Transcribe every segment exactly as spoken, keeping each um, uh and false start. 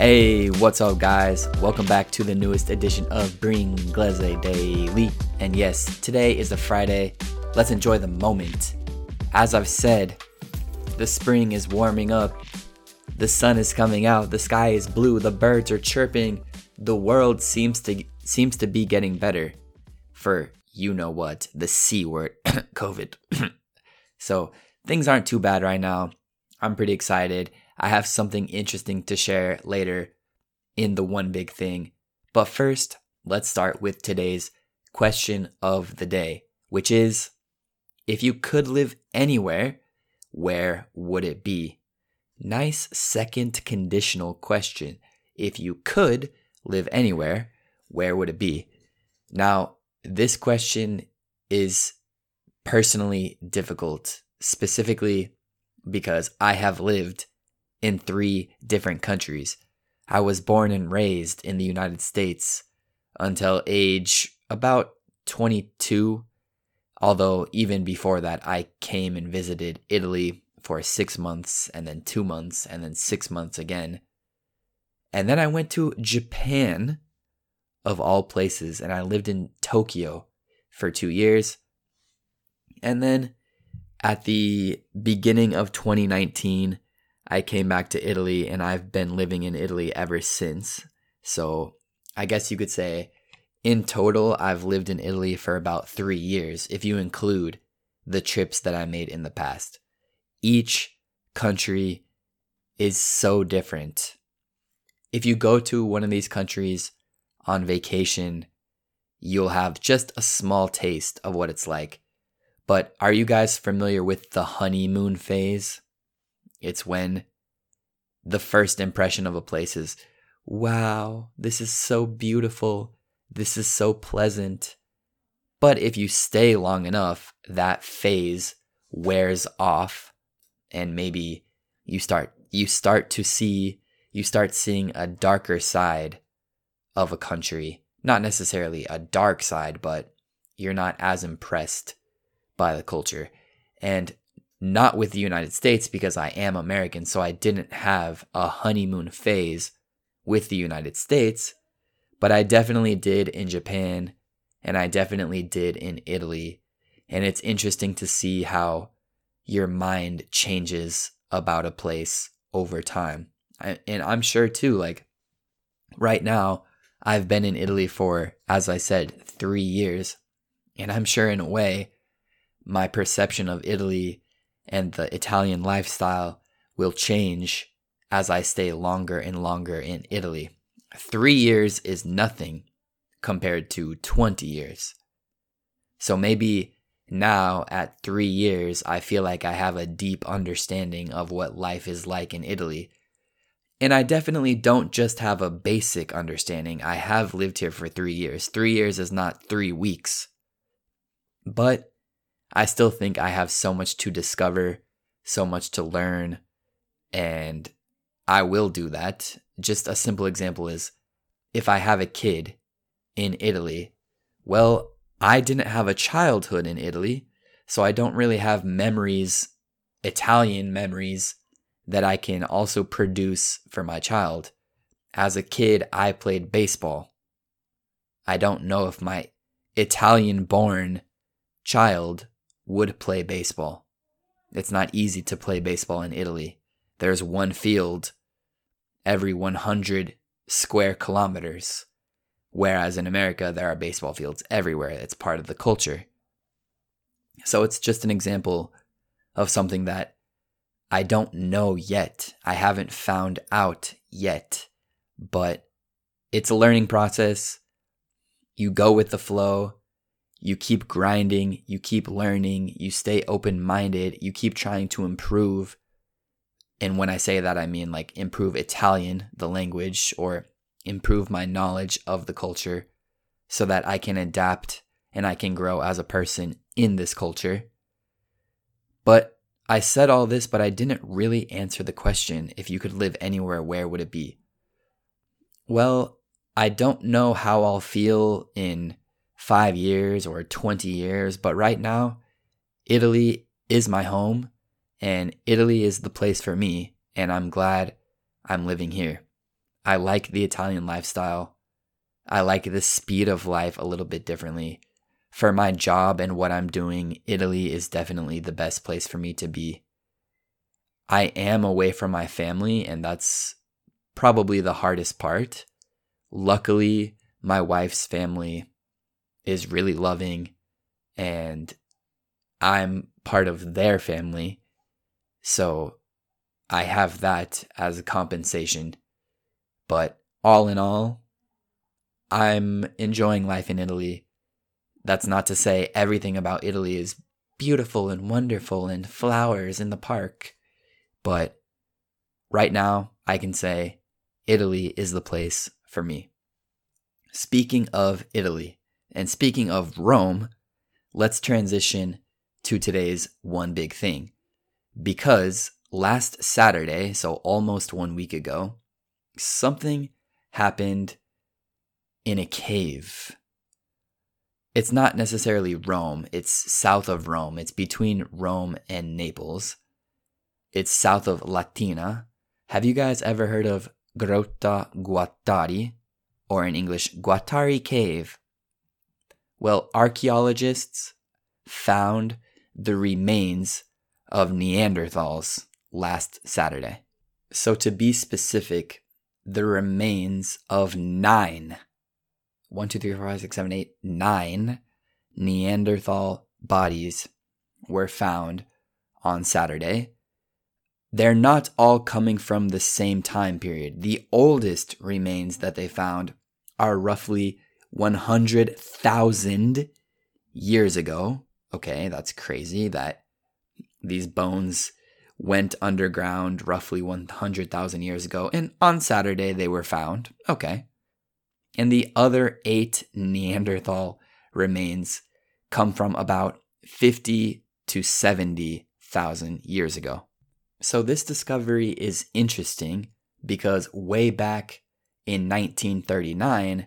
Hey, what's up, guys? Welcome back to the newest edition of Bringlese Daily. And yes, today is a Friday. Let's enjoy the moment. As I've said, the spring is warming up. The sun is coming out. The sky is blue. The birds are chirping. The world seems to seems to be getting better for you know what, the C word, COVID. So things aren't too bad right now. I'm pretty excited. I have something interesting to share later in the one big thing. But first, let's start with today's question of the day, which is, if you could live anywhere, where would it be? Nice second conditional question. If you could live anywhere, where would it be? Now, this question is personally difficult, specifically because I have lived in three different countries. I was born and raised in the United States until age about twenty-two, although even before that, I came and visited Italy for six months and then two months and then six months again. And then I went to Japan, of all places, and I lived in Tokyo for two years. And then at the beginning of twenty nineteen, I came back to Italy, and I've been living in Italy ever since. So I guess you could say in total, I've lived in Italy for about three years, if you include the trips that I made in the past. Each country is so different. If you go to one of these countries on vacation, you'll have just a small taste of what it's like. But are you guys familiar with the honeymoon phase? It's when the first impression of a place is, wow, this is so beautiful. This is so pleasant. But if you stay long enough, that phase wears off, and maybe you start you start to see you start seeing a darker side of a country. Not necessarily a dark side, but you're not as impressed by the culture. And not with the United States, because I am American, so I didn't have a honeymoon phase with the United States, but I definitely did in Japan, and I definitely did in Italy. And it's interesting to see how your mind changes about a place over time. I, and I'm sure too, like right now, I've been in Italy for, as I said, three years. And I'm sure in a way, my perception of Italy and the Italian lifestyle will change as I stay longer and longer in Italy. Three years is nothing compared to twenty years. So maybe now at three years, I feel like I have a deep understanding of what life is like in Italy. And I definitely don't just have a basic understanding. I have lived here for three years. Three years is not three weeks. But I still think I have so much to discover, so much to learn, and I will do that. Just a simple example is, if I have a kid in Italy, well, I didn't have a childhood in Italy, so I don't really have memories, Italian memories, that I can also produce for my child. As a kid, I played baseball. I don't know if my Italian-born child would play baseball. It's not easy to play baseball in Italy. There's one field every one hundred square kilometers, whereas in America, there are baseball fields everywhere. It's part of the culture. So it's just an example of something that I don't know yet. I haven't found out yet, but it's a learning process. You go with the flow. You keep grinding, you keep learning, you stay open-minded, you keep trying to improve. And when I say that, I mean like improve Italian, the language, or improve my knowledge of the culture so that I can adapt and I can grow as a person in this culture. But I said all this, but I didn't really answer the question, if you could live anywhere, where would it be? Well, I don't know how I'll feel in five years or twenty years, but right now, Italy is my home, and Italy is the place for me, and I'm glad I'm living here. I like the Italian lifestyle. I like the speed of life a little bit differently. For my job and what I'm doing, Italy is definitely the best place for me to be. I am away from my family, and that's probably the hardest part. Luckily, my wife's family is really loving, and I'm part of their family. So I have that as a compensation. But all in all, I'm enjoying life in Italy. That's not to say everything about Italy is beautiful and wonderful and flowers in the park. But right now, I can say Italy is the place for me. Speaking of Italy, and speaking of Rome, let's transition to today's one big thing. Because last Saturday, so almost one week ago, something happened in a cave. It's not necessarily Rome. It's south of Rome. It's between Rome and Naples. It's south of Latina. Have you guys ever heard of Grotta Guattari, or in English, Guattari Cave? Well, archaeologists found the remains of Neanderthals last Saturday. So to be specific, the remains of nine, one, two, three, four, five, six, seven, eight, nine Neanderthal bodies were found on Saturday. They're not all coming from the same time period. The oldest remains that they found are roughly one hundred thousand years ago. Okay, that's crazy that these bones went underground roughly one hundred thousand years ago, and on Saturday they were found. Okay. And the other eight Neanderthal remains come from about fifty to seventy thousand years ago. So this discovery is interesting because way back in nineteen thirty-nine,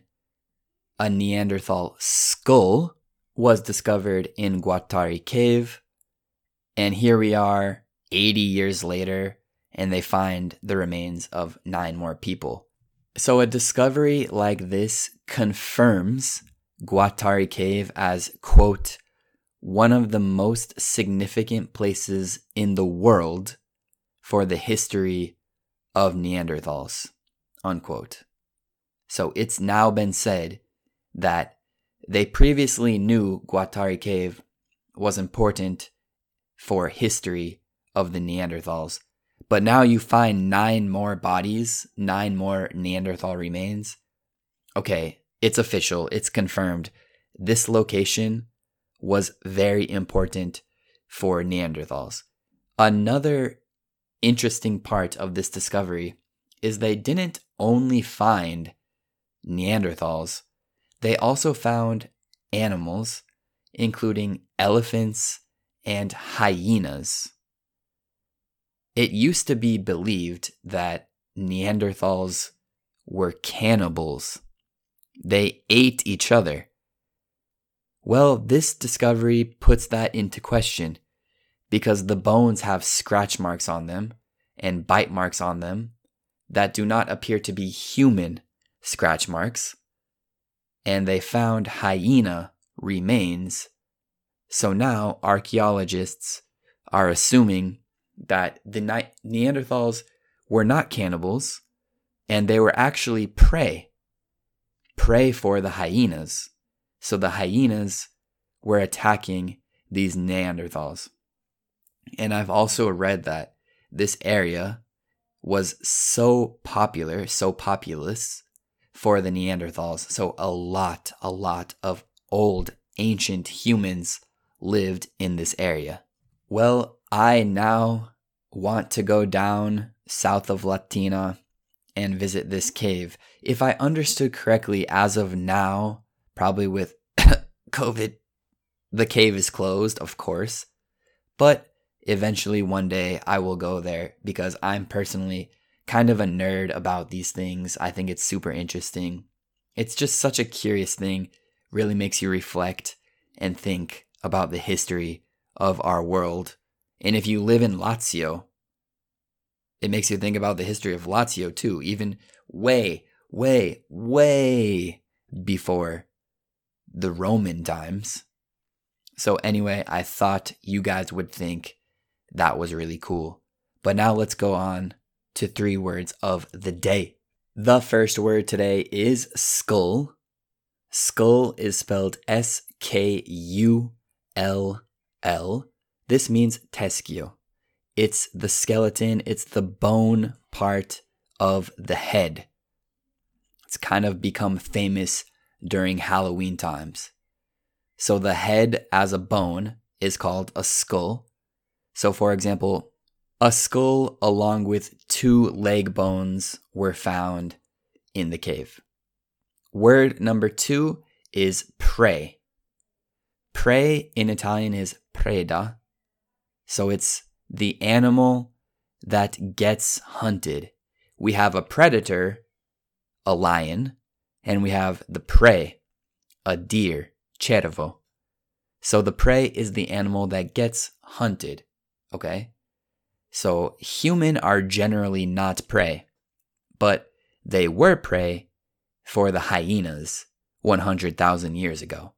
a Neanderthal skull was discovered in Guattari Cave. And here we are eighty years later, and they find the remains of nine more people. So a discovery like this confirms Guattari Cave as, quote, one of the most significant places in the world for the history of Neanderthals, unquote. So it's now been said that they previously knew Guattari Cave was important for history of the Neanderthals, but now you find nine more bodies, nine more Neanderthal remains. Okay, it's official, it's confirmed. This location was very important for Neanderthals. Another interesting part of this discovery is they didn't only find Neanderthals, they also found animals, including elephants and hyenas. It used to be believed that Neanderthals were cannibals. They ate each other. Well, this discovery puts that into question because the bones have scratch marks on them and bite marks on them that do not appear to be human scratch marks. And they found hyena remains. So now archaeologists are assuming that the Neanderthals were not cannibals and they were actually prey. Prey for the hyenas. So the hyenas were attacking these Neanderthals. And I've also read that this area was so popular, so populous for the Neanderthals. So a lot, a lot of old, ancient humans lived in this area. Well, I now want to go down south of Latina and visit this cave. If I understood correctly, as of now, probably with COVID, the cave is closed, of course. But eventually one day I will go there because I'm personally kind of a nerd about these things. I think it's super interesting. It's just such a curious thing. Really makes you reflect and think about the history of our world. And if you live in Lazio, it makes you think about the history of Lazio too. Even way, way, way before the Roman times. So anyway, I thought you guys would think that was really cool. But now let's go on to three words of the day. The first word today is skull. Skull is spelled S K U L L. This means teschio. It's the skeleton, it's the bone part of the head. It's kind of become famous during Halloween times. So the head as a bone is called a skull. So for example, a skull along with two leg bones were found in the cave. Word number two is prey. Prey in Italian is preda. So it's the animal that gets hunted. We have a predator, a lion, and we have the prey, a deer, cervo. So the prey is the animal that gets hunted, okay? So human are generally not prey, but they were prey for the hyenas one hundred thousand years ago.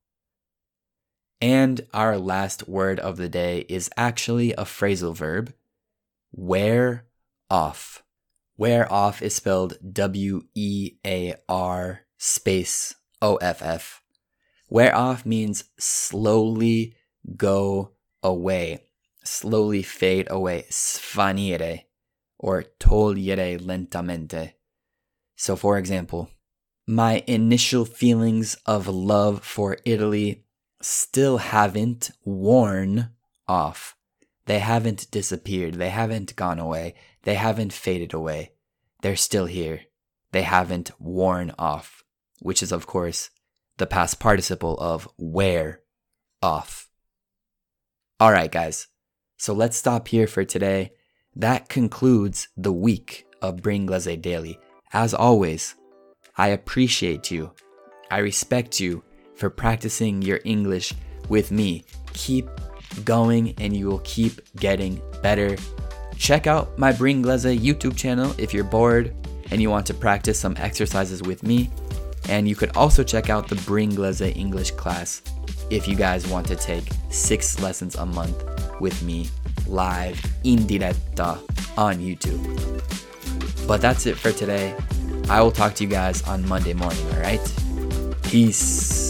And our last word of the day is actually a phrasal verb, wear off. Wear off is spelled W E A R space O F F. Wear off means slowly go away, slowly fade away, svanire, or togliere lentamente. So for example, my initial feelings of love for Italy still haven't worn off. They haven't disappeared. They haven't gone away. They haven't faded away. They're still here. They haven't worn off, which is, of course, the past participle of wear off. All right, guys. So let's stop here for today. That concludes the week of Bringlese Daily. As always, I appreciate you. I respect you for practicing your English with me. Keep going and you will keep getting better. Check out my Bringlese YouTube channel if you're bored and you want to practice some exercises with me. And you could also check out the Bringlese English class if you guys want to take six lessons a month with me live in diretta on YouTube. But that's it for today. I will talk to you guys on Monday morning, all right? Peace.